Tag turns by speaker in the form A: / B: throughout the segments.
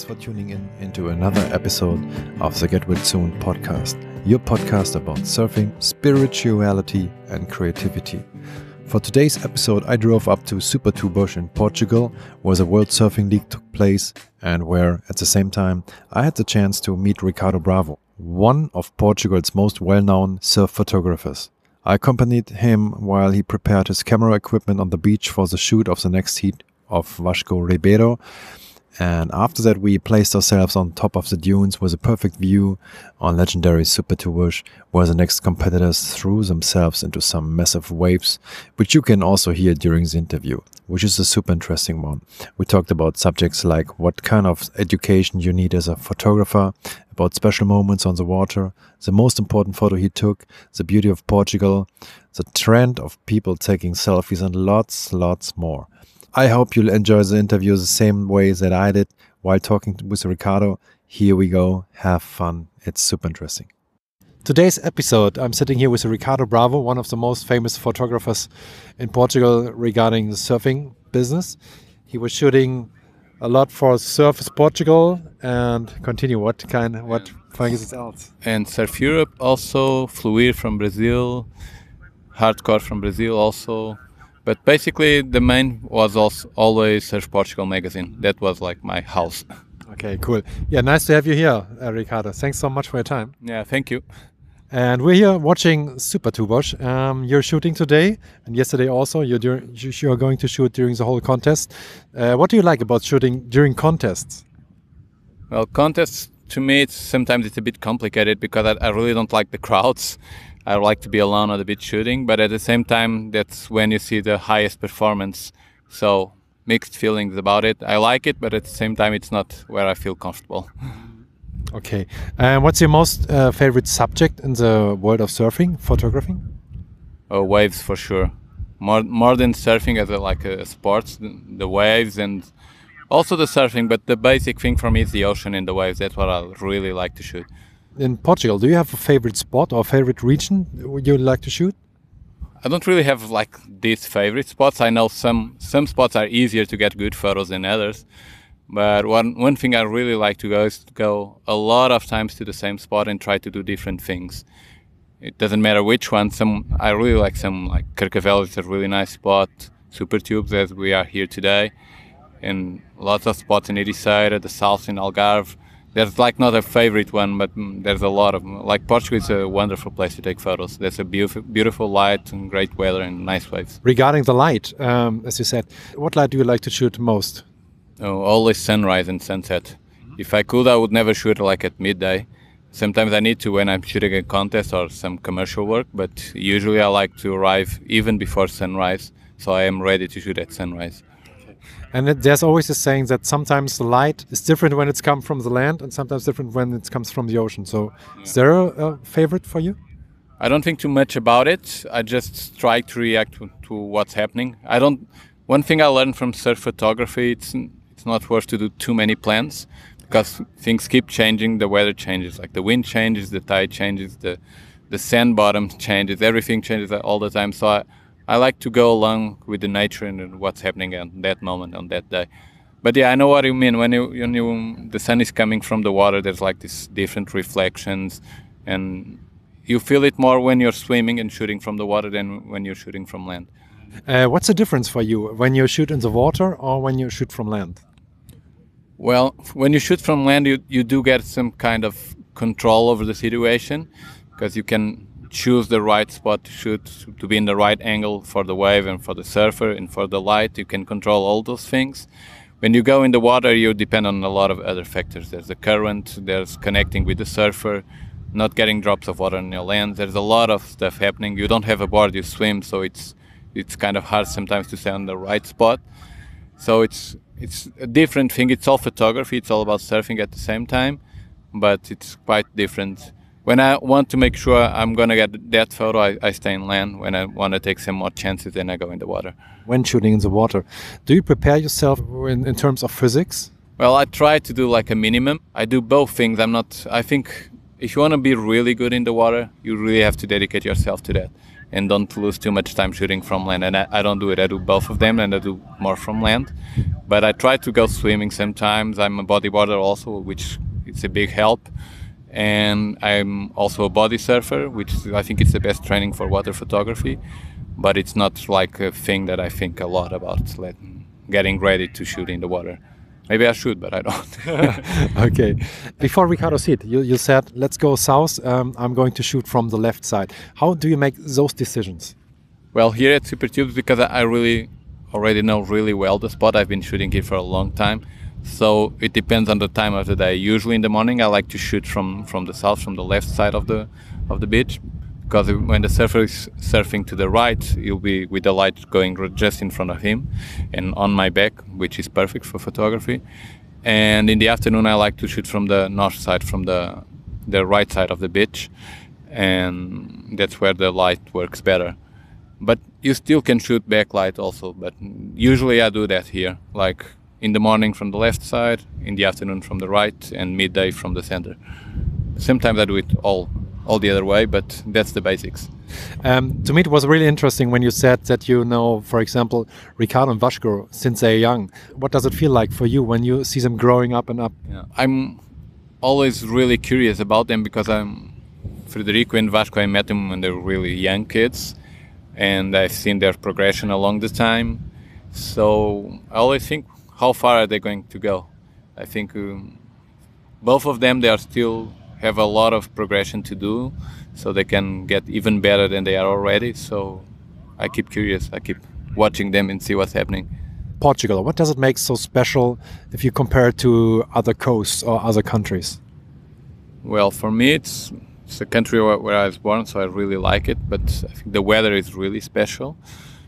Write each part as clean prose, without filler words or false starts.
A: for tuning in into another episode of the Get Well Soon podcast, your podcast about surfing, spirituality, and creativity. For today's episode, I drove up to Supertubos in Portugal, where the World Surfing League took place, and where, at the same time, I had the chance to meet Ricardo Bravo, one of Portugal's most well-known surf photographers. I accompanied him while he prepared his camera equipment on the beach for the shoot of the next heat of Vasco Ribeiro. And after that, we placed ourselves on top of the dunes with a perfect view on legendary Supertubos, where the next competitors threw themselves into some massive waves, which you can also hear during the interview, which is a super interesting one. We talked about subjects like what kind of education you need as a photographer, about special moments on the water, the most important photo he took, the beauty of Portugal, the trend of people taking selfies, and lots more. I hope you'll enjoy the interview the same way that I did while talking with Ricardo. Here we go. Have fun. It's super interesting. Today's episode, I'm sitting here with Ricardo Bravo, one of the most famous photographers in Portugal regarding the surfing business. He was shooting a lot for Surface Portugal and continue. What things else?
B: And Surf Europe also, Fluir from Brazil, Hardcore from Brazil also. But basically, the main was also always Surf Portugal magazine. That was like my house.
A: Okay, cool. Yeah, nice to have you here, Ricardo. Thanks so much for your time.
B: Yeah, thank you.
A: And we're here watching Supertubos. You're shooting today and yesterday also. You're going to shoot during the whole contest. What do you like about shooting during contests?
B: Well, contests to me, sometimes it's a bit complicated because I really don't like the crowds. I like to be alone on the beach shooting, but at the same time, that's when you see the highest performance. So mixed feelings about it. I like it, but at the same time, it's not where I feel comfortable.
A: Okay. And what's your most favorite subject in the world of surfing, photographing?
B: Oh, waves for sure. More than surfing as a sport, the waves and also the surfing. But the basic thing for me is the ocean and the waves. That's what I really like to shoot.
A: In Portugal, do you have a favorite spot or favorite region you like to shoot?
B: I don't really have like these favorite spots. I know some spots are easier to get good photos than others. But one thing I really like to go is to go a lot of times to the same spot and try to do different things. It doesn't matter which one. I really like Carcavelos is a really nice spot. Supertubos, as we are here today, and lots of spots in Ericeira, the south in Algarve. There's not a favorite one, but there's a lot of them. Portugal is a wonderful place to take photos. There's a beautiful light and great weather and nice waves.
A: Regarding the light, as you said, what light do you like to shoot most?
B: Oh, always sunrise and sunset. If I could, I would never shoot at midday. Sometimes I need to when I'm shooting a contest or some commercial work, but usually I like to arrive even before sunrise, so I am ready to shoot at sunrise.
A: And there's always a saying that sometimes the light is different when it's come from the land and sometimes different when it comes from the ocean. So Is there a favorite for you?
B: I don't think too much about it. I just try to react to what's happening. One thing I learned from surf photography, it's not worth to do too many plans because things keep changing, the weather changes, the wind changes, the tide changes, the sand bottom changes, everything changes all the time. So I like to go along with the nature and what's happening at that moment on that day. But yeah, I know what you mean. When the sun is coming from the water, there's these different reflections, and you feel it more when you're swimming and shooting from the water than when you're shooting from land.
A: What's the difference for you when you shoot in the water or when you shoot from land?
B: Well, when you shoot from land, you do get some kind of control over the situation because you can choose the right spot to shoot, to be in the right angle for the wave and for the surfer and for the light. You can control all those things. When you go in the water, you depend on a lot of other factors. There's the current, there's connecting with the surfer, not getting drops of water on your lens. There's a lot of stuff happening. You don't have a board, you swim, so it's kind of hard sometimes to stay on the right spot. So it's a different thing. It's all photography, it's all about surfing at the same time, but it's quite different. When I want to make sure I'm going to get that photo, I stay in land. When I want to take some more chances, then I go in the water.
A: When shooting in the water, do you prepare yourself in terms of physics?
B: Well, I try to do a minimum. I do both things. I think if you want to be really good in the water, you really have to dedicate yourself to that. and don't lose too much time shooting from land. And I don't do it. I do both of them, and I do more from land. But I try to go swimming sometimes. I'm a bodyboarder also, which is a big help. And I'm also a body surfer, which I think is the best training for water photography. But it's not like a thing that I think a lot about, getting ready to shoot in the water. Maybe I should, but I don't.
A: Okay. Before Ricardo Seed, you said, let's go south. I'm going to shoot from the left side. How do you make those decisions?
B: Well, here at SuperTubes, because I really already know really well the spot. I've been shooting here for a long time. So it depends on the time of the day. Usually in the morning, I like to shoot from the south, from the left side of the beach. Because when the surfer is surfing to the right, he'll be with the light going just in front of him and on my back, which is perfect for photography. And in the afternoon, I like to shoot from the north side, from the right side of the beach. And that's where the light works better. But you still can shoot backlight also. But usually I do that here, like in the morning from the left side, in the afternoon from the right, and midday from the center. Sometimes I do it all the other way, but that's the basics.
A: To me, it was really interesting when you said that you know, for example, Ricardo and Vasco since they're young. What does it feel like for you when you see them growing up and up?
B: Yeah. I'm always really curious about them because Frederico and Vasco, I met them when they were really young kids, and I've seen their progression along the time. So I always think, how far are they going to go? I think both of them, they are still have a lot of progression to do, so they can get even better than they are already. So I keep curious. I keep watching them and see what's happening.
A: Portugal, what does it make so special if you compare it to other coasts or other countries?
B: Well, for me, it's a country where I was born, so I really like it. But I think the weather is really special.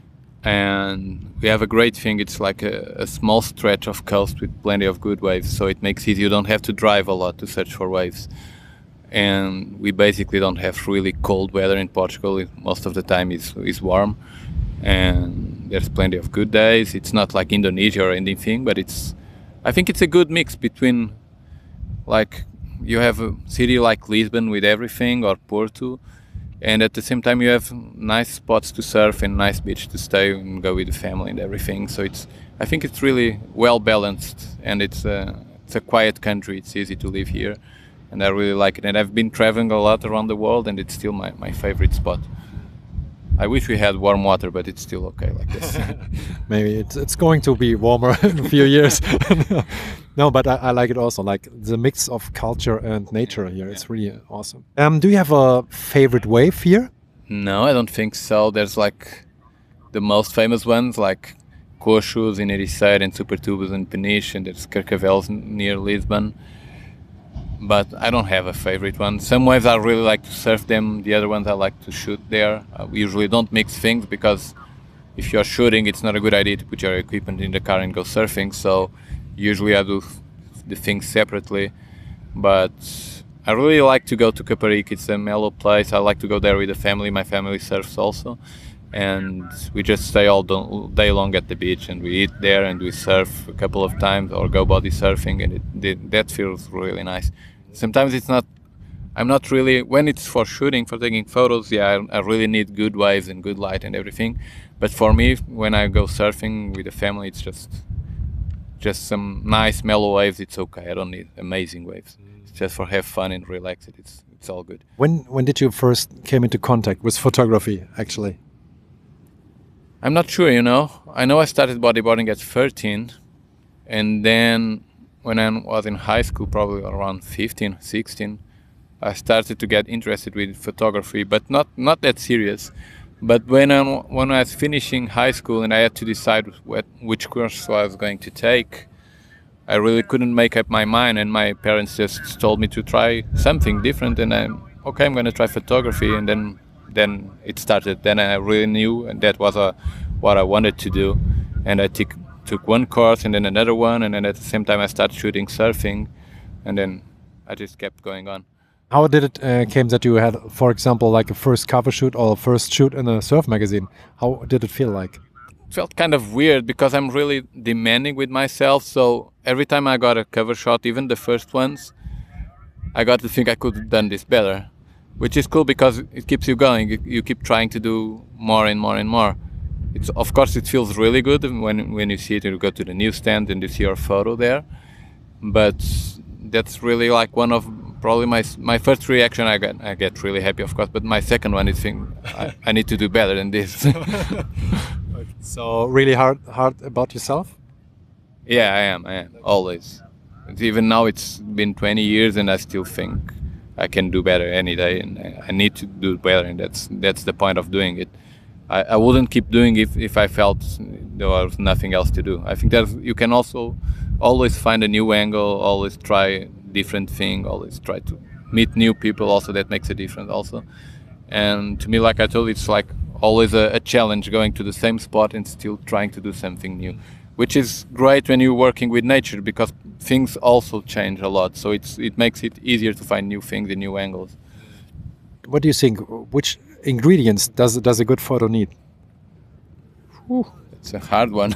B: And we have a great thing. It's like a small stretch of coast with plenty of good waves, so it makes it easy. You don't have to drive a lot to search for waves. And we basically don't have really cold weather in Portugal. Most of the time is warm, and there's plenty of good days. It's not like Indonesia or anything, but I think it's a good mix between, like, you have a city like Lisbon with everything, or Porto, and at the same time you have nice spots to surf and nice beach to stay and go with the family and everything. So I think it's really well balanced, and it's a quiet country. It's easy to live here, and I really like it. And I've been traveling a lot around the world, and it's still my favorite spot. I wish we had warm water, but it's still okay like this.
A: Maybe it's going to be warmer in a few years. No, but I like it also, like the mix of culture and nature here. Yeah. It's really awesome. Do you have a favorite wave here?
B: No, I don't think so. There's like the most famous ones, like Coxos in Ericeira and Supertubos in Peniche, and there's Carcavelos near Lisbon. But I don't have a favorite one. Some waves I really like to surf them. The other ones I like to shoot there. We usually don't mix things because if you're shooting, it's not a good idea to put your equipment in the car and go surfing. So usually I do the things separately. But I really like to go to Caparica. It's a mellow place. I like to go there with the family. My family surfs also. And we just stay all day long at the beach, and we eat there and we surf a couple of times or go body surfing, and that feels really nice. Sometimes I'm not really, when it's for shooting, for taking photos, yeah, I really need good waves and good light and everything. But for me, when I go surfing with the family, it's just some nice mellow waves. It's okay. I don't need amazing waves. It's just for have fun and relax it. It's all good.
A: When did you first came into contact with photography, actually?
B: I'm not sure, I know I started bodyboarding at 13, and then when I was in high school, probably around 15, 16, I started to get interested with photography, but not that serious. But when I was finishing high school and I had to decide which course I was going to take, I really couldn't make up my mind, and my parents just told me to try something different, and I'm going to try photography, and then it started. Then I really knew, and that was what I wanted to do. And I took one course and then another one, and then at the same time I started shooting surfing, and then I just kept going on.
A: How did it came that you had, for example, like a first cover shoot or a first shoot in a surf magazine? How did it feel like?
B: It felt kind of weird because I'm really demanding with myself. So every time I got a cover shot, even the first ones, I got to think I could have done this better. which is cool because it keeps you going. You keep trying to do more and more and more. It's, of course, it feels really good when you see it and you go to the newsstand and you see your photo there. But that's really like one of probably my first reaction. I get really happy, of course, but my second one is think I need to do better than this.
A: So really hard about yourself?
B: Yeah, I am always. Even now it's been 20 years and I still think I can do better any day, and I need to do better, and that's the point of doing it. I wouldn't keep doing it if I felt there was nothing else to do. I think that you can also always find a new angle, always try different thing, always try to meet new people. Also, that makes a difference. Also, and to me, like I told you, it's like always a challenge going to the same spot and still trying to do something new, which is great when you're working with nature because things also change a lot. So it makes it easier to find new things and new angles.
A: What do you think? Which ingredients does a good photo need?
B: It's a hard one.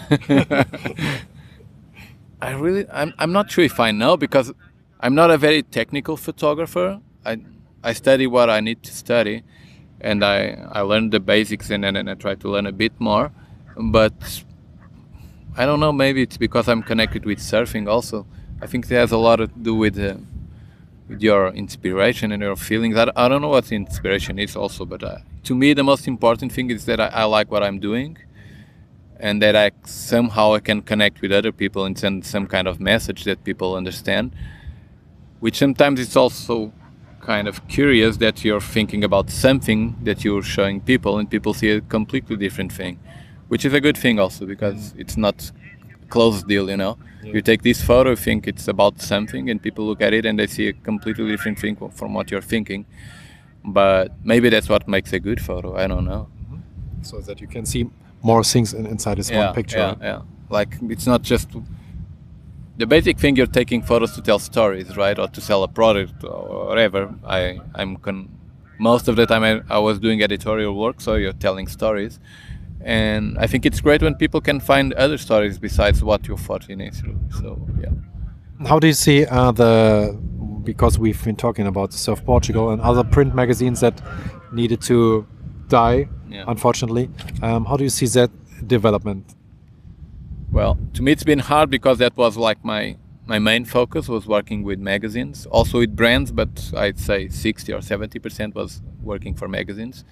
B: I'm not sure if I know because I'm not a very technical photographer. I study what I need to study, and I learn the basics and then I try to learn a bit more. But I don't know, maybe it's because I'm connected with surfing also. I think it has a lot to do with your inspiration and your feelings. I don't know what inspiration is also, but to me the most important thing is that I like what I'm doing and that I can connect with other people and send some kind of message that people understand, which sometimes it's also kind of curious that you're thinking about something that you're showing people and people see a completely different thing, which is a good thing also because it's not a closed deal, you know. Yeah. You take this photo, think it's about something, and people look at it and they see a completely different thing from what you're thinking. But maybe that's what makes a good photo. I don't know.
A: Mm-hmm. So that you can see more things inside this one picture.
B: Yeah. Like it's not just the basic thing. You're taking photos to tell stories, right, or to sell a product or whatever. Most of the time I was doing editorial work, so you're telling stories. And I think it's great when people can find other stories besides what your photo is. So, yeah.
A: How do you see because we've been talking about Surf Portugal and other print magazines that needed to die, unfortunately. How do you see that development?
B: Well, to me it's been hard because that was like my main focus was working with magazines, also with brands, but I'd say 60 or 70% was working for magazines.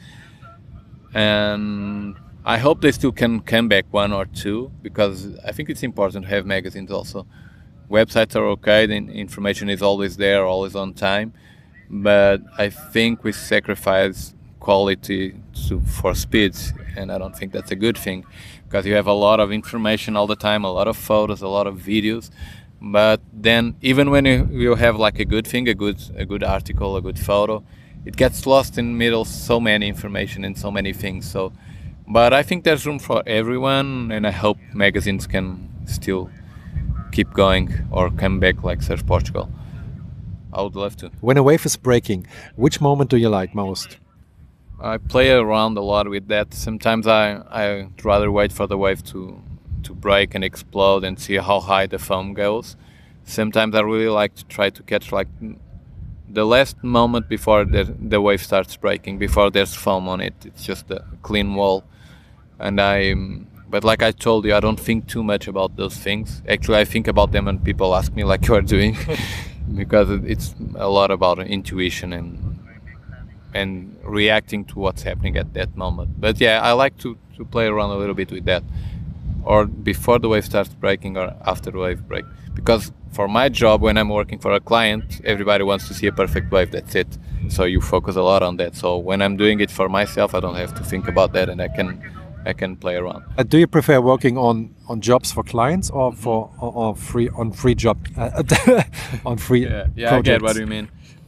B: And I hope they still can come back one or two because I think it's important to have magazines also. Websites are okay, the information is always there, always on time, but I think we sacrifice quality for speed, and I don't think that's a good thing because you have a lot of information all the time, a lot of photos, a lot of videos, but then even when you have like a good thing, a good article, a good photo, it gets lost in the middle, so many information and so many things. But I think there's room for everyone, and I hope magazines can still keep going or come back like Surf Portugal. I would love to.
A: When a wave is breaking, which moment do you like most?
B: I play around a lot with that. Sometimes I'd rather wait for the wave to break and explode and see how high the foam goes. Sometimes I really like to try to catch like the last moment before the wave starts breaking, before there's foam on it. It's just a clean wall. But like I told you, I don't think too much about those things. Actually, I think about them when people ask me like you are doing, because it's a lot about intuition and reacting to what's happening at that moment. But yeah, I like to play around a little bit with that, or before the wave starts breaking or after the wave break. Because for my job, when I'm working for a client, everybody wants to see a perfect wave, that's it. So you focus a lot on that. So when I'm doing it for myself, I don't have to think about that, and I can play around.
A: Do you prefer working on jobs for clients or on free job on free
B: yeah,
A: projects?
B: I get what you mean.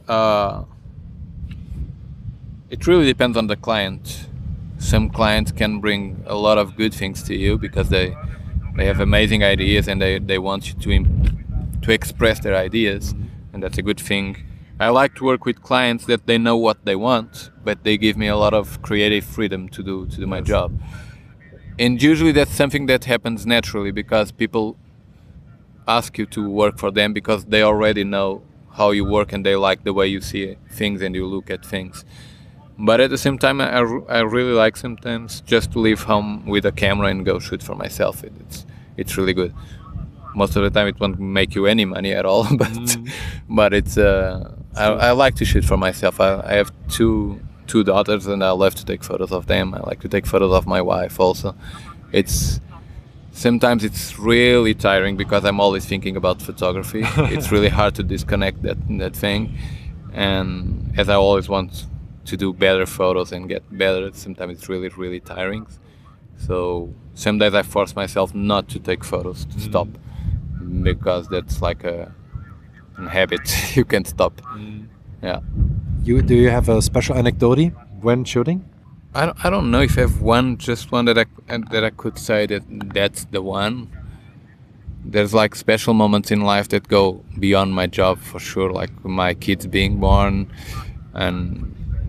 B: It really depends on the client. Some clients can bring a lot of good things to you because they have amazing ideas and they want you to express their ideas, and that's a good thing. I like to work with clients that they know what they want, but they give me a lot of creative freedom to do my job. And usually that's something that happens naturally because people ask you to work for them because they already know how you work, and they like the way you see things and you look at things. But at the same time, I really like sometimes just to leave home with a camera and go shoot for myself. It's really good. Most of the time, it won't make you any money at all, but it's I like to shoot for myself. I have two daughters, and I love to take photos of them. I like to take photos of my wife also. Sometimes it's really tiring because I'm always thinking about photography. It's really hard to disconnect that thing, and as I always want to do better photos and get better, sometimes it's really, really tiring. So some days I force myself not to take photos, to stop, because that's like a habit. You can't stop. Yeah.
A: Do you have a special anecdote when shooting?
B: I don't know if I have just one that I could say that's the one. There's like special moments in life that go beyond my job for sure, like my kids being born, and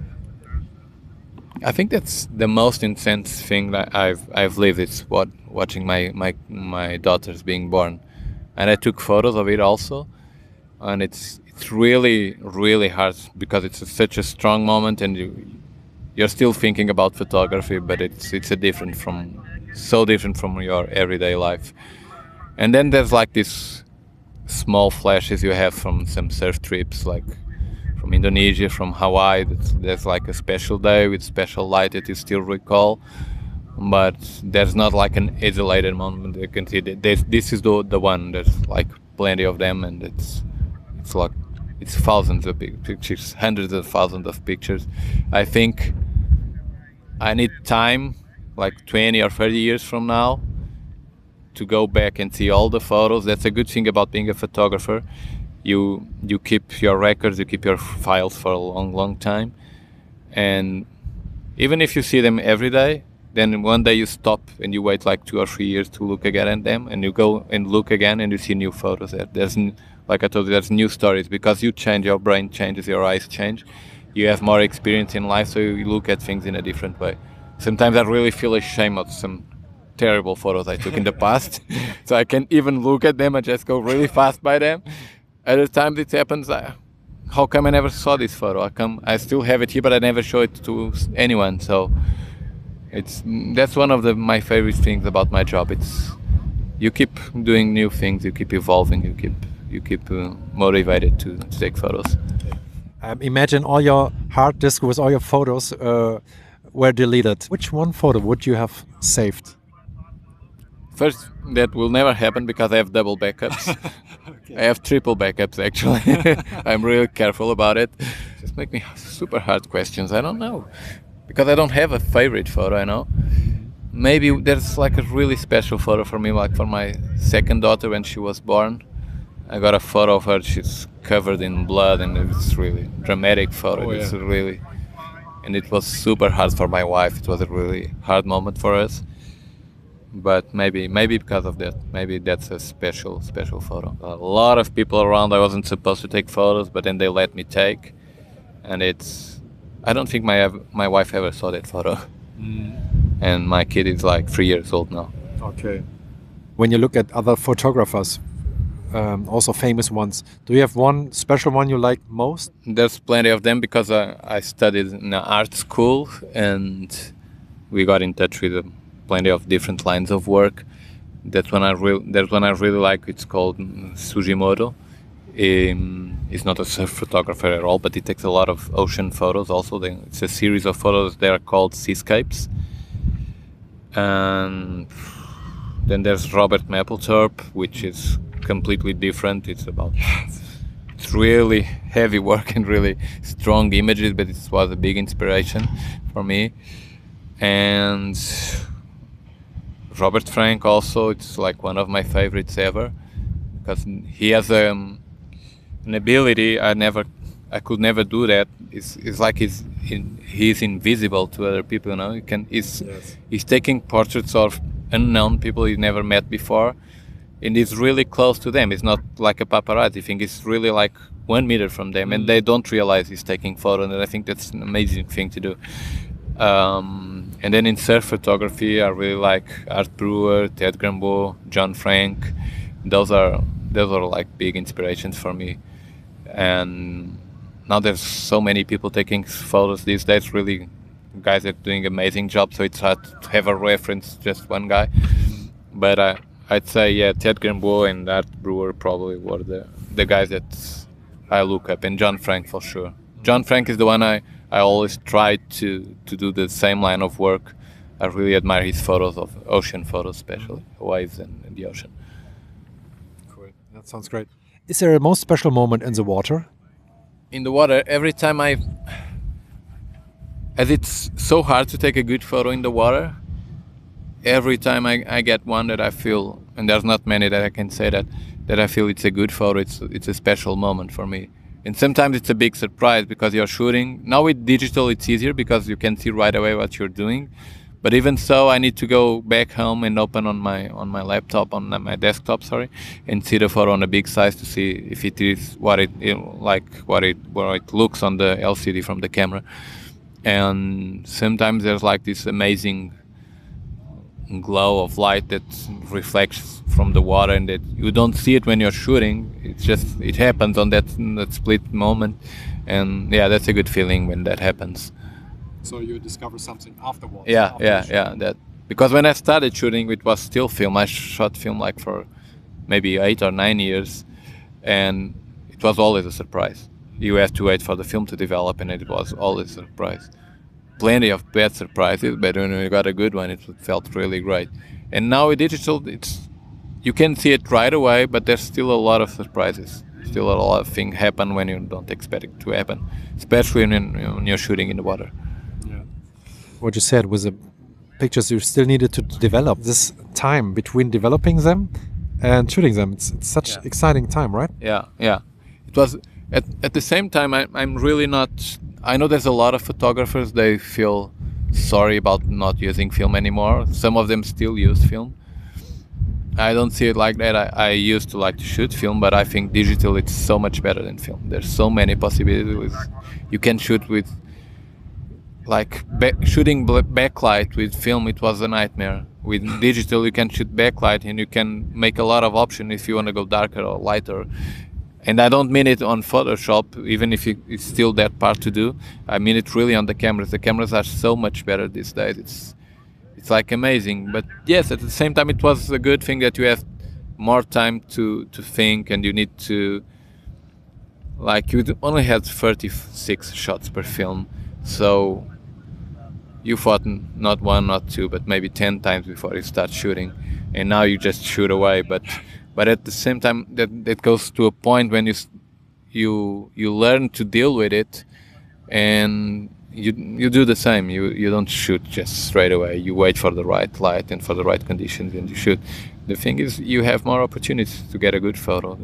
B: I think that's the most intense thing that I've lived. It's watching my daughters being born, and I took photos of it also, and it's really, really hard because it's such a strong moment, and you're still thinking about photography, but it's so different from your everyday life. And then there's like these small flashes you have from some surf trips, like from Indonesia, from Hawaii. There's like a special day with special light that you still recall, but there's not like an isolated moment. You can see that this is the one. There's like plenty of them, and it's thousands of pictures, hundreds of thousands of pictures. I think I need time, like 20 or 30 years from now, to go back and see all the photos. That's a good thing about being a photographer. You keep your records, you keep your files for a long, long time. And even if you see them every day, then one day you stop and you wait like 2 or 3 years to look again at them, and you go and look again and you see new photos there. Like I told you, there's new stories because you change, your brain changes, your eyes change. You have more experience in life, so you look at things in a different way. Sometimes I really feel ashamed of some terrible photos I took in the past. So I can't even look at them, I just go really fast by them. Other times it happens, how come I never saw this photo? I still have it here, but I never show it to anyone. So that's one of my favorite things about my job. You keep doing new things, you keep evolving, you keep motivated to take photos.
A: Imagine all your hard disk with all your photos were deleted. Which one photo would you have saved?
B: First, that will never happen because I have double backups. Okay. I have triple backups actually. I'm really careful about it. Just make me super hard questions. I don't know. Because I don't have a favorite photo, I know. Maybe there's like a really special photo for me, like for my second daughter when she was born. I got a photo of her, she's covered in blood, and it's really dramatic photo. And it was super hard for my wife. It was a really hard moment for us. But maybe because of that, maybe that's a special photo. A lot of people around, I wasn't supposed to take photos, but then they let me take. And I don't think my wife ever saw that photo. And my kid is like 3 years old now.
A: Okay. When you look at other photographers, also famous ones, do you have one special one you like most?
B: There's plenty of them because I studied in an art school, and we got in touch with plenty of different lines of work. There's one I really like. It's called Sugimoto. He's not a surf photographer at all, but he takes a lot of ocean photos also. It's a series of photos. They are called seascapes. And then there's Robert Mapplethorpe, which is completely different. It's really heavy work and really strong images, but it was a big inspiration for me. And Robert Frank also, it's like one of my favorites ever, because he has an ability I could never do that. It's like he's invisible to other people, you know. He's taking portraits of unknown people he never met before, and he's really close to them. It's not like a paparazzi thing. It's really like 1 meter from them, and they don't realize he's taking photos. And I think that's an amazing thing to do. And then in surf photography, I really like Art Brewer, Ted Grambeau, John Frank. Those are like big inspirations for me. and now there's so many people taking photos these days. Really, guys are doing amazing job. So it's hard to have a reference, just one guy. But I'd say Ted Grimbaud and Art Brewer probably were the guys that I look up, and John Frank for sure. John Frank is the one I always try to do the same line of work. I really admire his photos of ocean photos, especially waves and the ocean.
A: Cool. That sounds great. Is there a most special moment in the water?
B: In the water, every time as it's so hard to take a good photo in the water, every time I get one that I feel, and there's not many that I can say that I feel it's a good photo, it's a special moment for me. And sometimes it's a big surprise because you're shooting. Now with digital it's easier because you can see right away what you're doing. But even so, I need to go back home and open on my laptop, on my desktop, and see the photo on a big size to see if it is what it looks on the LCD from the camera. And sometimes there's like this amazing glow of light that reflects from the water, and that you don't see it when you're shooting. It happens on that split moment, and that's a good feeling when that happens.
A: So you discover something afterwards.
B: That because when I started shooting, it was still film. I shot film like for maybe 8 or 9 years, and it was always a surprise. You have to wait for the film to develop, and it was always a surprise. Plenty of bad surprises, but when you got a good one, it felt really great. And now with digital, you can see it right away, but there's still a lot of surprises. Still a lot of things happen when you don't expect it to happen, especially when you're shooting in the water.
A: What you said was the pictures you still needed to develop. This time between developing them and shooting them, it's such exciting time, right?
B: Yeah. It was at the same time. I'm really not. I know there's a lot of photographers. They feel sorry about not using film anymore. Some of them still use film. I don't see it like that. I used to like to shoot film, but I think digital it's so much better than film. There's so many possibilities. You can shoot with. Like shooting backlight with film, it was a nightmare. With digital, you can shoot backlight and you can make a lot of options if you want to go darker or lighter. And I don't mean it on Photoshop, even if it's still that part to do. I mean it really on the cameras. The cameras are so much better these days. It's like amazing. But yes, at the same time, it was a good thing that you have more time to think, and you need to. Like you only had 36 shots per film, so. You fought not one, not two, but maybe 10 times before you start shooting, and now you just shoot away. But at the same time, that goes to a point when you learn to deal with it, and you do the same. You don't shoot just straight away. You wait for the right light and for the right conditions, and you shoot. The thing is, you have more opportunities to get a good photo.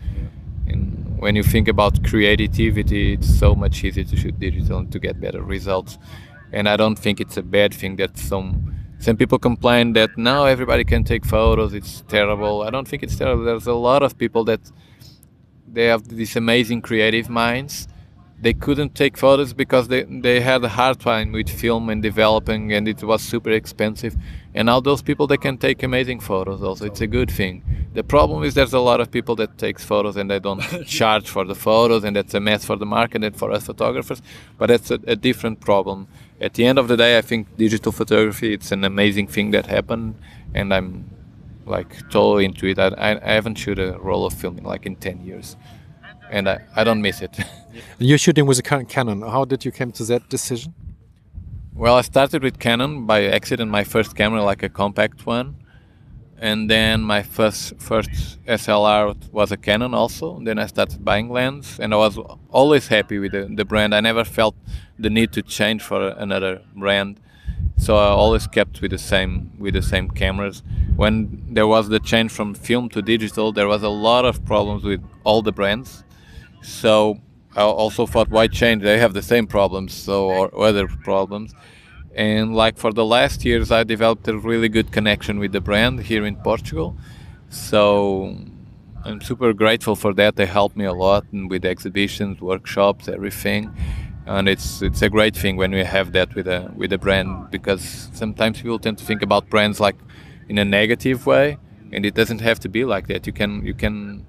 B: And when you think about creativity, it's so much easier to shoot digital and to get better results. And I don't think it's a bad thing that some people complain that now everybody can take photos, it's terrible. I don't think it's terrible. There's a lot of people that they have these amazing creative minds. They couldn't take photos because they had a hard time with film and developing, and it was super expensive. And now those people, they can take amazing photos also. It's a good thing. The problem is there's a lot of people that takes photos and they don't charge for the photos, and that's a mess for the market and for us photographers. But that's a different problem. At the end of the day, I think digital photography, it's an amazing thing that happened, and I'm like totally into it. I haven't shot a roll of film in like in 10 years, and I don't miss it.
A: You're shooting with a Canon. How did you come to that decision?
B: Well, I started with Canon by accident, my first camera, like a compact one. And then my first SLR was a Canon also. Then I started buying lens, and I was always happy with the brand. I never felt the need to change for another brand. So I always kept with the same cameras. When there was the change from film to digital, there was a lot of problems with all the brands. So I also thought, why change? They have the same problems, or other problems. And like for the last years, I developed a really good connection with the brand here in Portugal. So I'm super grateful for that. They helped me a lot with exhibitions, workshops, everything. And it's a great thing when we have that with a brand, because sometimes people tend to think about brands like in a negative way, and it doesn't have to be like that. You can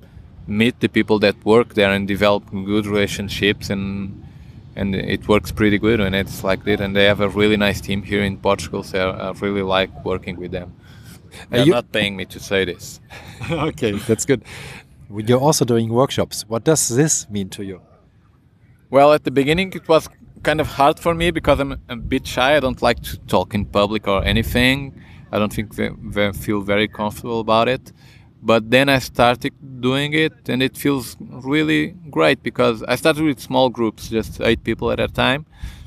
B: meet the people that work there and develop good relationships, and it works pretty good when it's like that. And they have a really nice team here in Portugal, so I really like working with them. They're not paying me to say this.
A: Okay, that's good. You're also doing workshops. What does this mean to you?
B: Well, at the beginning it was kind of hard for me because I'm a bit shy. I don't like to talk in public or anything. I don't think they feel very comfortable about it. But then I started doing it, and it feels really great because I started with small groups, just 8 people at a time.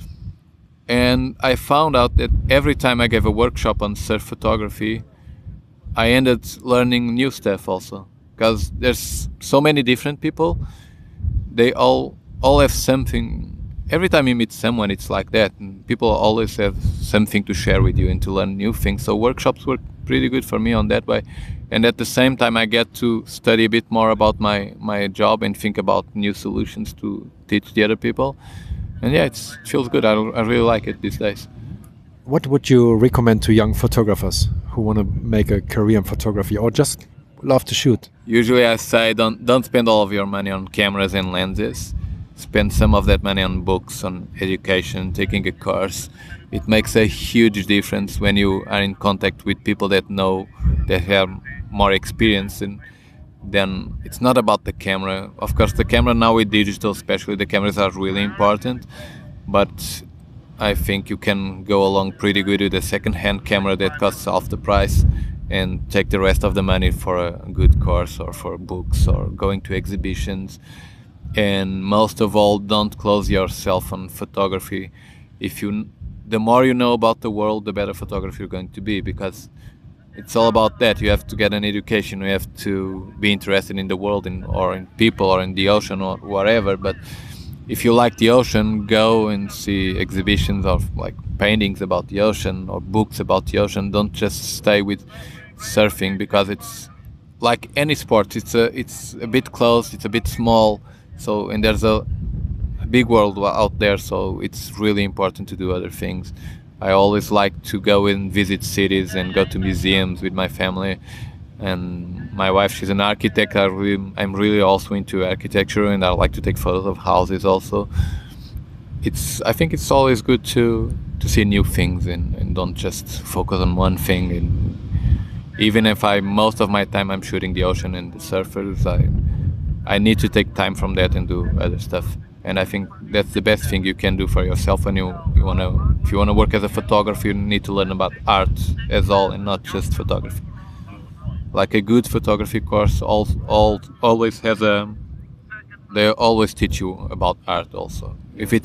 B: And I found out that every time I gave a workshop on surf photography, I ended learning new stuff also. Because there's so many different people. They all have something. Every time you meet someone, it's like that. And people always have something to share with you and to learn new things. So workshops work pretty good for me on that way. And at the same time, I get to study a bit more about my job and think about new solutions to teach the other people. And yeah, it feels good. I really like it these days.
A: What would you recommend to young photographers who want to make a career in photography or just love to shoot?
B: Usually I say don't spend all of your money on cameras and lenses. Spend some of that money on books, on education, taking a course. It makes a huge difference when you are in contact with people that have more experience. And then it's not about the camera. Of course, the camera now with digital, especially the cameras are really important. But I think you can go along pretty good with a second-hand camera that costs half the price and take the rest of the money for a good course or for books or going to exhibitions. And most of all, don't close yourself on photography. The more you know about the world, the better photographer you're going to be, because it's all about that. You have to get an education. You have to be interested in the world or in people or in the ocean or whatever. But if you like the ocean, go and see exhibitions of like paintings about the ocean or books about the ocean. Don't just stay with surfing, because it's like any sport. It's a bit closed. It's a bit small. So, and there's a big world out there, so it's really important to do other things. I always like to go and visit cities and go to museums with my family. And my wife, she's an architect. I'm really also into architecture, and I like to take photos of houses also. I think it's always good to see new things and don't just focus on one thing. And even if most of my time I'm shooting the ocean and the surfers, I need to take time from that and do other stuff. And I think that's the best thing you can do for yourself when if you want to work as a photographer, you need to learn about art as all and not just photography. Like a good photography course always has they always teach you about art also.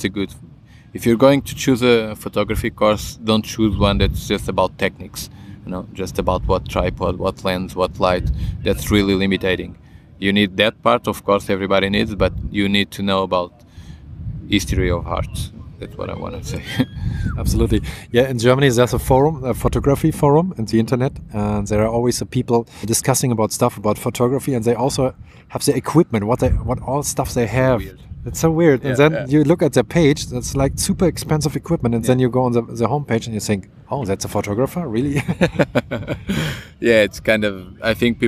B: If you're going to choose a photography course, don't choose one that's just about techniques, just about what tripod, what lens, what light. That's really limiting. You need that part, of course, everybody needs, but you need to know about history of art. That's what I want to say.
A: Absolutely. Yeah, in Germany there's a photography forum on the internet, and there are always people discussing about stuff about photography, and they also have the equipment, what all stuff they have.
B: Weird.
A: It's so weird.
B: Yeah,
A: and then you look at their page, that's like super expensive equipment, and then you go on the homepage and you think, oh, that's a photographer? Really?
B: Yeah, it's kind of, I think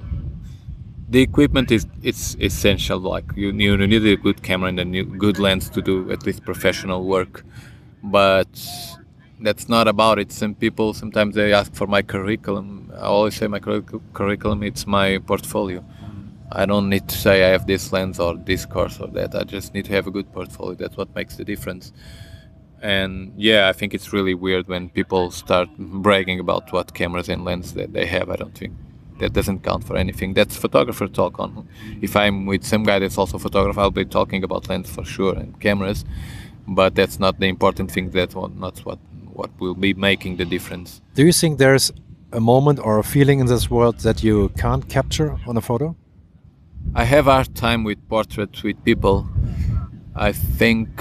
B: the equipment it's essential. Like you need a good camera and a good lens to do at least professional work, but that's not about it. Some people sometimes they ask for my curriculum. I always say my curriculum, it's my portfolio. I don't need to say I have this lens or this course or that. I just need to have a good portfolio. That's what makes the difference. And yeah, I think it's really weird when people start bragging about what cameras and lenses that they have. I don't think that doesn't count for anything. That's photographer talk on. If I'm with some guy that's also a photographer, I'll be talking about lens for sure and cameras, but that's not the important thing. That's not what will be making the difference.
A: Do you think there's a moment or a feeling in this world that you can't capture on a photo?
B: I have a hard time with portraits with people. I think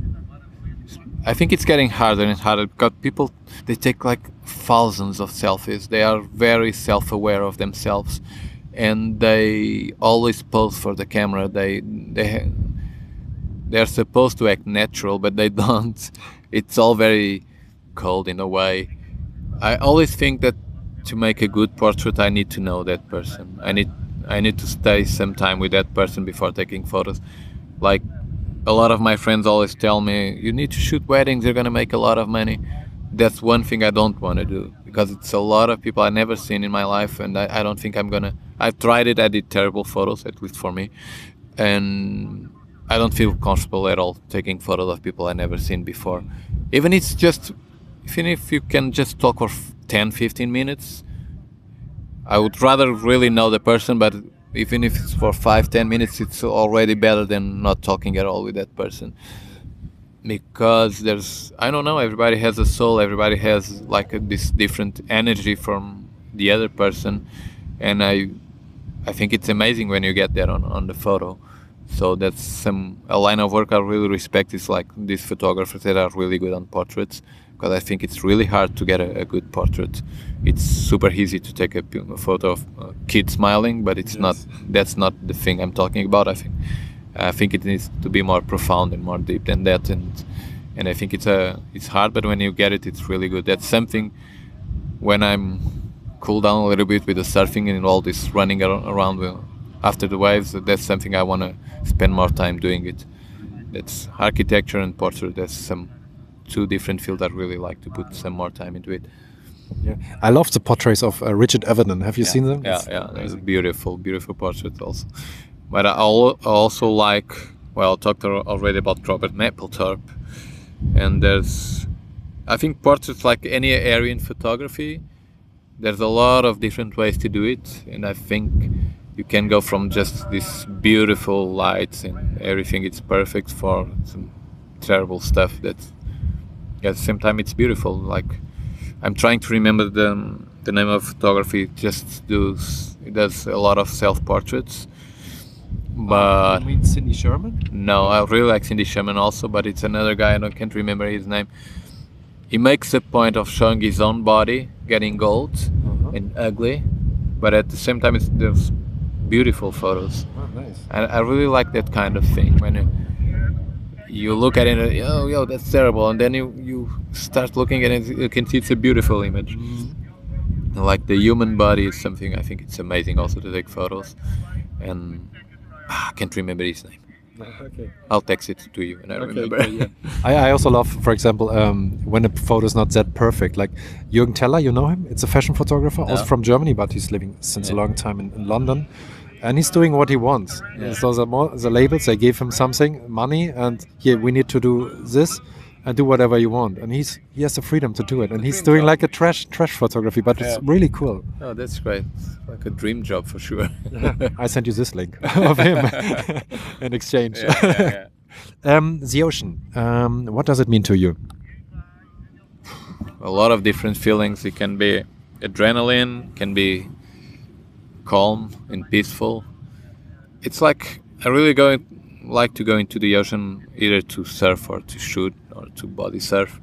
B: it's getting harder and harder because people, they take like thousands of selfies. They are very self-aware of themselves, and they always pose for the camera. They're supposed to act natural, but they don't. It's all very cold in a way. I always think that to make a good portrait, I need to know that person. I need to stay some time with that person before taking photos. Like a lot of my friends always tell me, you need to shoot weddings, you're gonna make a lot of money. That's one thing I don't want to do, because it's a lot of people I've never seen in my life, and I don't think I'm gonna. I've tried it, I did terrible photos, at least for me, and I don't feel comfortable at all taking photos of people I've never seen before. Even if you can just talk for 10-15 minutes, I would rather really know the person, but even if it's for 5-10 minutes, it's already better than not talking at all with that person. Because I don't know, everybody has a soul, everybody has like this different energy from the other person, and I think it's amazing when you get that on the photo. So that's a line of work I really respect, is like these photographers that are really good on portraits, because I think it's really hard to get a good portrait. It's super easy to take a photo of a kid smiling, but it's not. That's not the thing I'm talking about. I think it needs to be more profound and more deep than that, and I think it's hard, but when you get it, it's really good. That's something when I'm cool down a little bit with the surfing and all this running around after the waves. That's something I want to spend more time doing it. That's architecture and portrait. That's some two different fields I really like to put some more time into it.
A: Yeah, I love the portraits of Richard Avedon. Have you seen them?
B: Yeah, there's a beautiful portrait also. But I also like, well, I talked already about Robert Mapplethorpe, and I think portraits, like any area in photography, there's a lot of different ways to do it, and I think you can go from just this beautiful lights and everything, it's perfect, for some terrible stuff that, at the same time, it's beautiful. Like, I'm trying to remember the name of photography. It does a lot of self-portraits. But
A: you mean Cindy Sherman?
B: No, I really like Cindy Sherman also, but it's another guy, can't remember his name. He makes a point of showing his own body getting gold and ugly, but at the same time there's beautiful photos.
A: Oh, nice.
B: And I really like that kind of thing, when you look at it and yo, that's terrible, and then you start looking at it, you can see it's a beautiful image. Like the human body is something, I think it's amazing also to take photos, and I can't remember his name.
A: Okay.
B: I'll text it to you and I remember.
A: Okay, yeah. I also love, for example, when a photo is not that perfect. Like Jürgen Teller, you know him? It's a fashion photographer, also from Germany, but he's living since a long time in London. And he's doing what he wants. Yeah. So the labels, they gave him something, money, and here we need to do this and do whatever you want. And he has the freedom to do it. And he's doing like a trash photography, but it's really cool.
B: Oh, that's great. It's like a dream job for sure.
A: I sent you this link of him in exchange. The ocean, what does it mean to you?
B: A lot of different feelings. It can be adrenaline, can be calm and peaceful. It's like I really like to go into the ocean either to surf or to shoot or to body surf.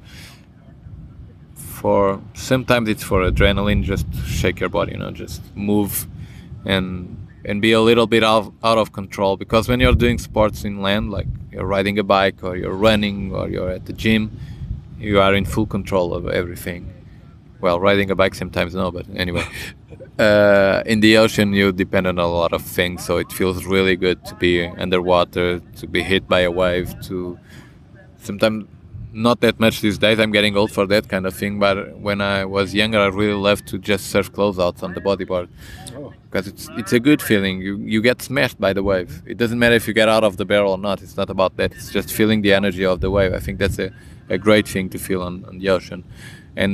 B: Sometimes it's for adrenaline, just shake your body, just move and be a little bit out of control. Because when you're doing sports in land, like you're riding a bike or you're running or you're at the gym, you are in full control of everything. Well, riding a bike sometimes no, but anyway. In the ocean, you depend on a lot of things, so it feels really good to be underwater, to be hit by a wave, sometimes not that much these days. I'm getting old for that kind of thing, but when I was younger, I really loved to just surf closeouts on the bodyboard, because it's a good feeling. You get smashed by the wave. It doesn't matter if you get out of the barrel or not. It's not about that. It's just feeling the energy of the wave. I think that's a great thing to feel on the ocean, and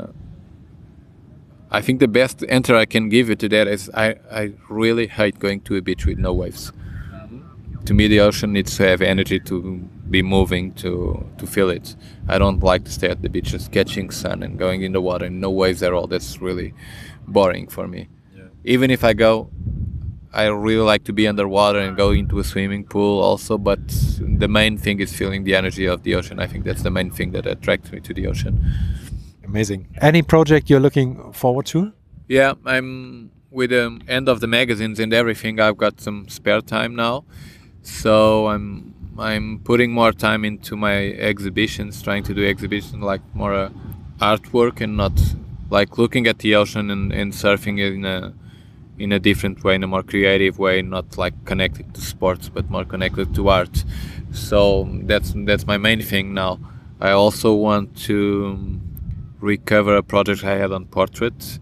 B: I think the best answer I can give you to that is I really hate going to a beach with no waves. To me, the ocean needs to have energy to be moving, to feel it. I don't like to stay at the beach just catching sun and going in the water and no waves at all. That's really boring for me. Yeah. Even if I go, I really like to be underwater and go into a swimming pool also, but the main thing is feeling the energy of the ocean. I think that's the main thing that attracts me to the ocean.
A: Amazing. Any project you're looking forward to?
B: Yeah, I'm with the end of the magazines and everything. I've got some spare time now, so I'm putting more time into my exhibitions, trying to do exhibitions like more artwork and not like looking at the ocean and surfing in a different way, in a more creative way, not like connected to sports, but more connected to art. So that's my main thing now. I also want to recover a project I had on portrait,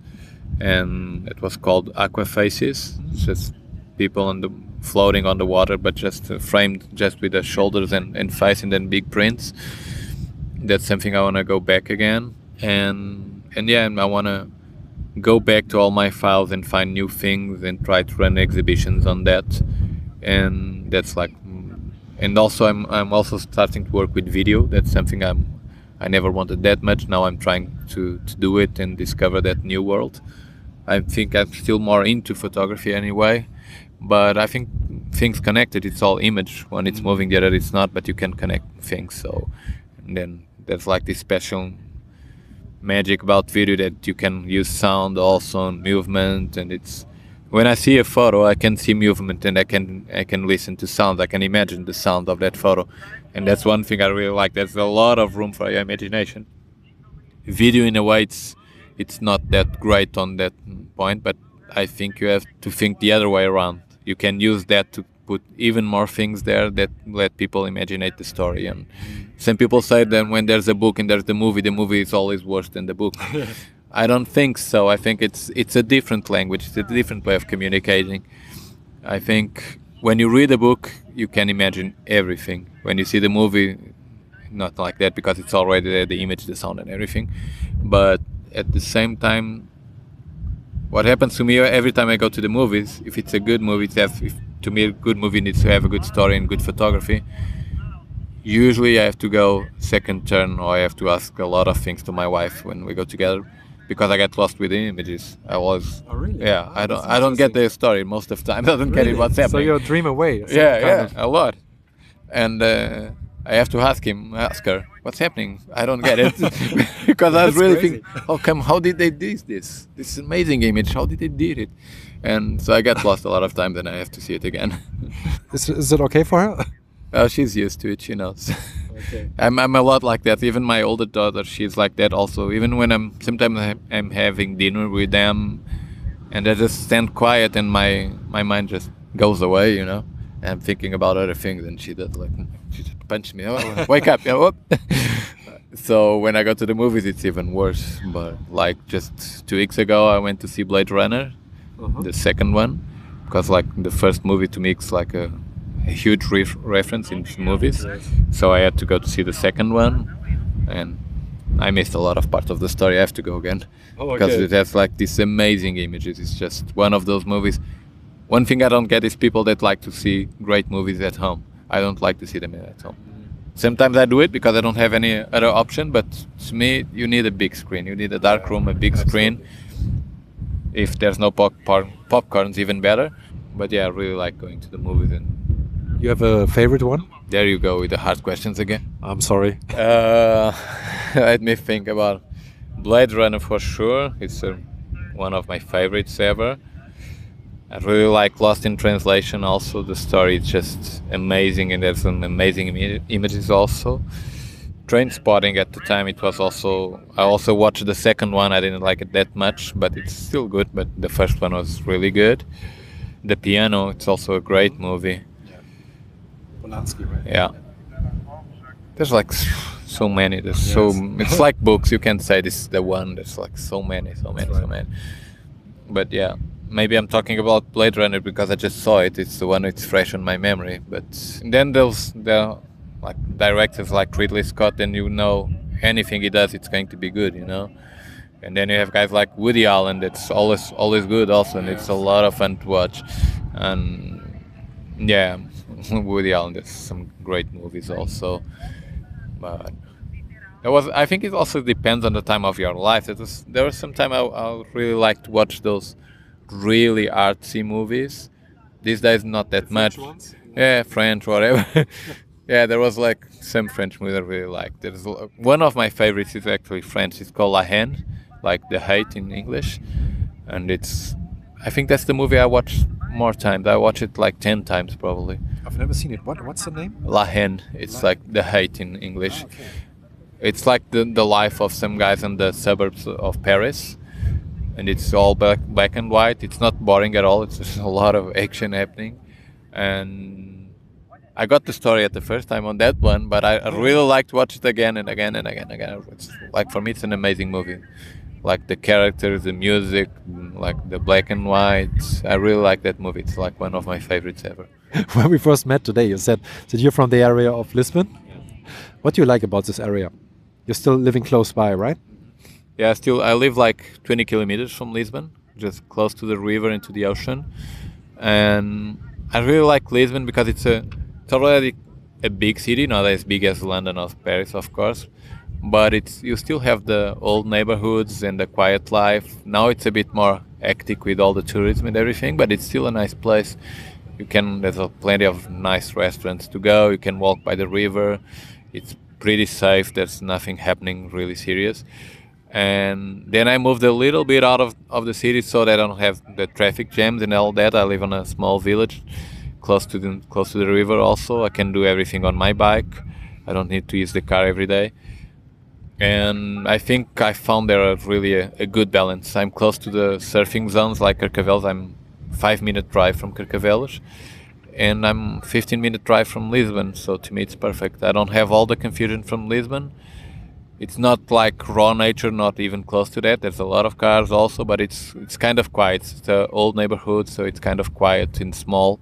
B: and it was called Aqua Faces. It's just people floating on the water, but just framed just with the shoulders and face, and then big prints. That's something I want to go back again, and I want to go back to all my files and find new things and try to run exhibitions on that. And that's like, and also I'm also starting to work with video. That's something I never wanted that much. Now I'm trying to do it and discover that new world. I think I'm still more into photography anyway, but I think things connected. It's all image. When it's moving, the other it's not, but you can connect things. So, and then there's like this special magic about video that you can use sound also and movement, and it's when I see a photo I can see movement, and I can listen to sound. I can imagine the sound of that photo, and that's one thing I really like. There's a lot of room for your imagination. Video in a way it's not that great on that point, but I think you have to think the other way around. You can use that to put even more things there that let people imaginate the story. And some people say that when there's a book and there's the movie is always worse than the book. I don't think so. I think it's a different language. It's a different way of communicating. I think when you read a book, you can imagine everything. When you see the movie, not like that, because it's already there, the image, the sound and everything. But at the same time, what happens to me every time I go to the movies, if it's a good movie, to me a good movie needs to have a good story and good photography. Usually I have to go second turn, or I have to ask a lot of things to my wife when we go together, because I get lost with the images.
A: Oh, really?
B: Yeah, I don't get the story most of the time. I don't get it what's happening.
A: So you're dream away.
B: Yeah, a lot. And I have to ask her, what's happening? I don't get it. Because I was really thinking, how did they do this? This amazing image, how did they do it? And so I get lost a lot of times, then I have to see it again.
A: Is it okay for her?
B: Oh, she's used to it, she knows.
A: Okay.
B: I'm a lot like that. Even my older daughter, she's like that also. Even when sometimes I'm having dinner with them, and I just stand quiet and my mind just goes away, and I'm thinking about other things, and she does she just punches me. Oh, wake up! So when I go to the movies, it's even worse. But like just 2 weeks ago, I went to see Blade Runner, the second one, because like the first movie to me is like a huge reference in movies. So I had to go to see the second one, and I missed a lot of part of the story. I have to go again because it has like these amazing images. It's just one of those movies. One thing I don't get is people that like to see great movies at home. I don't like to see them at home. Sometimes I do it because I don't have any other option, but to me, you need a big screen. You need a dark room, a big screen. If there's no popcorn's even better. But yeah, I really like going to the movies. And
A: you have a favorite one?
B: There you go with the hard questions again.
A: I'm sorry.
B: Let me think about Blade Runner for sure. It's one of my favorites ever. I really like Lost in Translation also. The story is just amazing, and there's some amazing images also. Trainspotting at the time, it was also... I also watched the second one. I didn't like it that much, but it's still good. But the first one was really good. The Piano, it's also a great movie.
A: Yeah. Polanski, right?
B: Yeah. There's like so many. It's like books. You can't say this is the one. There's like so many. But yeah, maybe I'm talking about Blade Runner because I just saw it. It's the one that's fresh in my memory. But then there are like directors like Ridley Scott, and anything he does, it's going to be good, And then you have guys like Woody Allen. That's always good also, and it's a lot of fun to watch. And yeah, Woody Allen does some great movies also. But I think it also depends on the time of your life. There was some time I really like to watch those really artsy movies. These days, not that much.
A: Ones?
B: Yeah, French, whatever. Yeah, there was like some French movie I really liked. There's one of my favorites is actually French. It's called La Haine, like the hate in English, and I think that's the movie I watched more times. I watched it like 10 times probably.
A: I've never seen it. What's the name?
B: La Haine. It's like the hate in English. It's like the life of some guys in the suburbs of Paris, and it's all black and white. It's not boring at all. It's just a lot of action happening, and I got the story at the first time on that one, but I really like to watch it again and again and again and again. It's like, for me, it's an amazing movie. Like the characters, the music, like the black and white. I really like that movie. It's like one of my favorites ever.
A: When we first met today, you said that you're from the area of Lisbon. What do you like about this area? You're still living close by, right?
B: Yeah, I live like 20 kilometers from Lisbon, just close to the river and to the ocean. And I really like Lisbon because it's already a big city, not as big as London or Paris, of course. But you still have the old neighborhoods and the quiet life. Now it's a bit more hectic with all the tourism and everything, but it's still a nice place. There's plenty of nice restaurants to go. You can walk by the river. It's pretty safe. There's nothing happening really serious. And then I moved a little bit out of the city so that I don't have the traffic jams and all that. I live in a small village close to the river also. I can do everything on my bike. I don't need to use the car every day. And I think I found there really a good balance. I'm close to the surfing zones like Carcavelos. I'm 5-minute drive from Carcavelos, and I'm 15-minute drive from Lisbon. So to me, it's perfect. I don't have all the confusion from Lisbon. It's not like raw nature, not even close to that. There's a lot of cars also, but it's kind of quiet. It's an old neighborhood, so it's kind of quiet and small.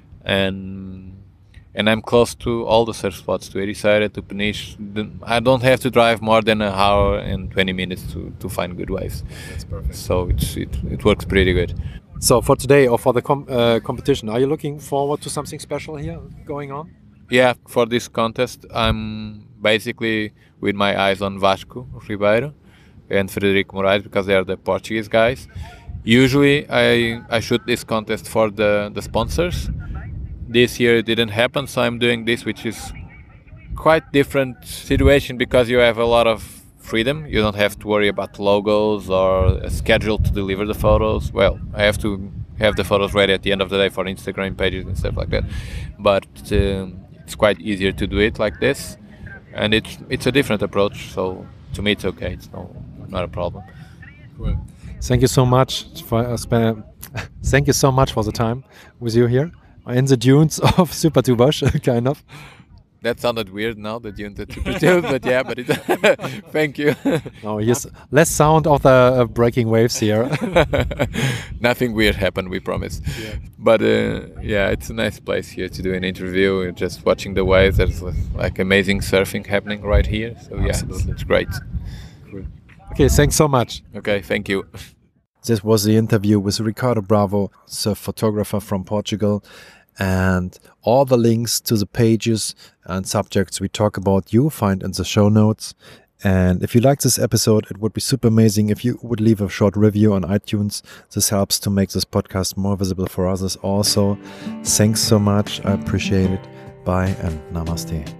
B: And I'm close to all the surf spots, to Ericeira, to Peniche. I don't have to drive more than an hour and 20 minutes to find good waves.
A: That's perfect.
B: So it works pretty good.
A: So for today or for the competition, are you looking forward to something special here going on?
B: Yeah, for this contest, I'm basically with my eyes on Vasco Ribeiro and Frederico Moraes because they are the Portuguese guys. Usually I shoot this contest for the sponsors. This year it didn't happen, so I'm doing this, which is quite different situation because you have a lot of freedom. You don't have to worry about logos or a schedule to deliver the photos. Well, I have to have the photos ready at the end of the day for Instagram pages and stuff like that. But it's quite easier to do it like this, and it's a different approach. So to me, it's okay. It's not a problem.
A: Cool. Thank you so much for thank you so much for the time with you here in the dunes of Süpertubos, kind of.
B: That sounded weird now, the dunes at Süpertubos, but yeah, thank you.
A: No, here's less sound of the breaking waves here.
B: Nothing weird happened, we promise. Yeah. But yeah, it's a nice place here to do an interview. You're just watching the waves. There's like amazing surfing happening right here. So yeah, it's great.
A: Cool. Okay, thanks so much.
B: Okay, thank you.
A: This was the interview with Ricardo Bravo, surf photographer from Portugal. And all the links to the pages and subjects we talk about you find in the show notes. And if you like this episode, it would be super amazing if you would leave a short review on iTunes. This helps to make this podcast more visible for others also. Thanks so much. I appreciate it. Bye and namaste.